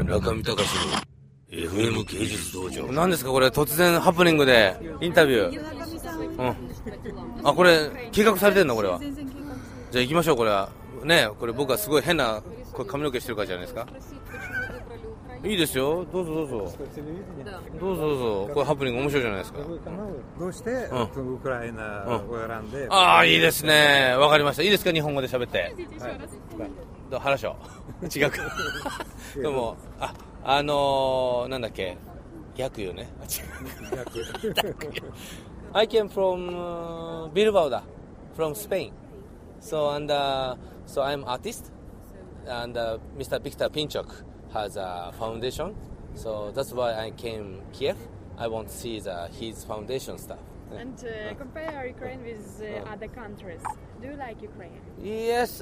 中見隆の FM 芸術道場。何ですかこれ、突然ハプニングでインタビュー。あ、これ計画されてんのこれは。じゃあ行きましょう。これはね、これ僕はすごい変なこれ髪の毛してるからじゃないですか。いいですよ、どうぞどうぞどうぞどうぞ。これハプニング面白いじゃないですか。 どうしてウクライナを選んで。 ああ、いいですね、わかりました。いいですか、日本語で喋って。どう話しょう違うかでもなんだっけ、逆よね。I came from Bilbao, from Spain. So I'm artist, and Mr. Victor Pinchuk has a foundation. So that's why I came Kiev. I want to see his foundation stuff. And compare Ukraine with other countries. Do you like Ukraine? Yes,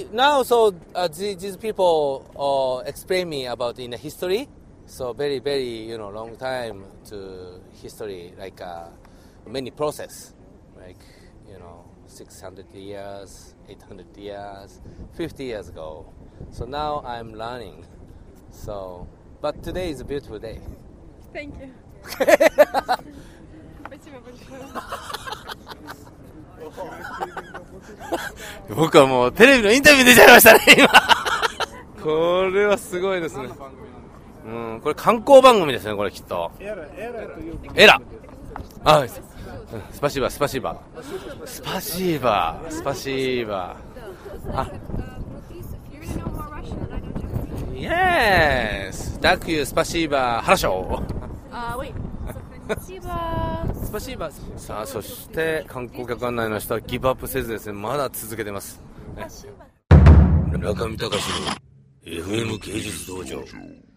these people explain me about in the history. So very, very, long time to history, like many process, like, 600 years, 800 years, 50 years ago. So now I'm learning. So, but today is a beautiful day. Thank you. Спасибо большое. 僕はもうテレビのインタビュー出ちゃいましたね今これはすごいですね。これ観光番組ですね、これきっと。エラあ、スパシーバ、スパシーバ、スパシーバ、スパシーバ。あ、Yes! Thank you, スパシーバ、ハラショー。スパシーバ。さあ、そして観光客案内の人はギブアップせずですね、まだ続けてます。中見隆の FM 芸術道場。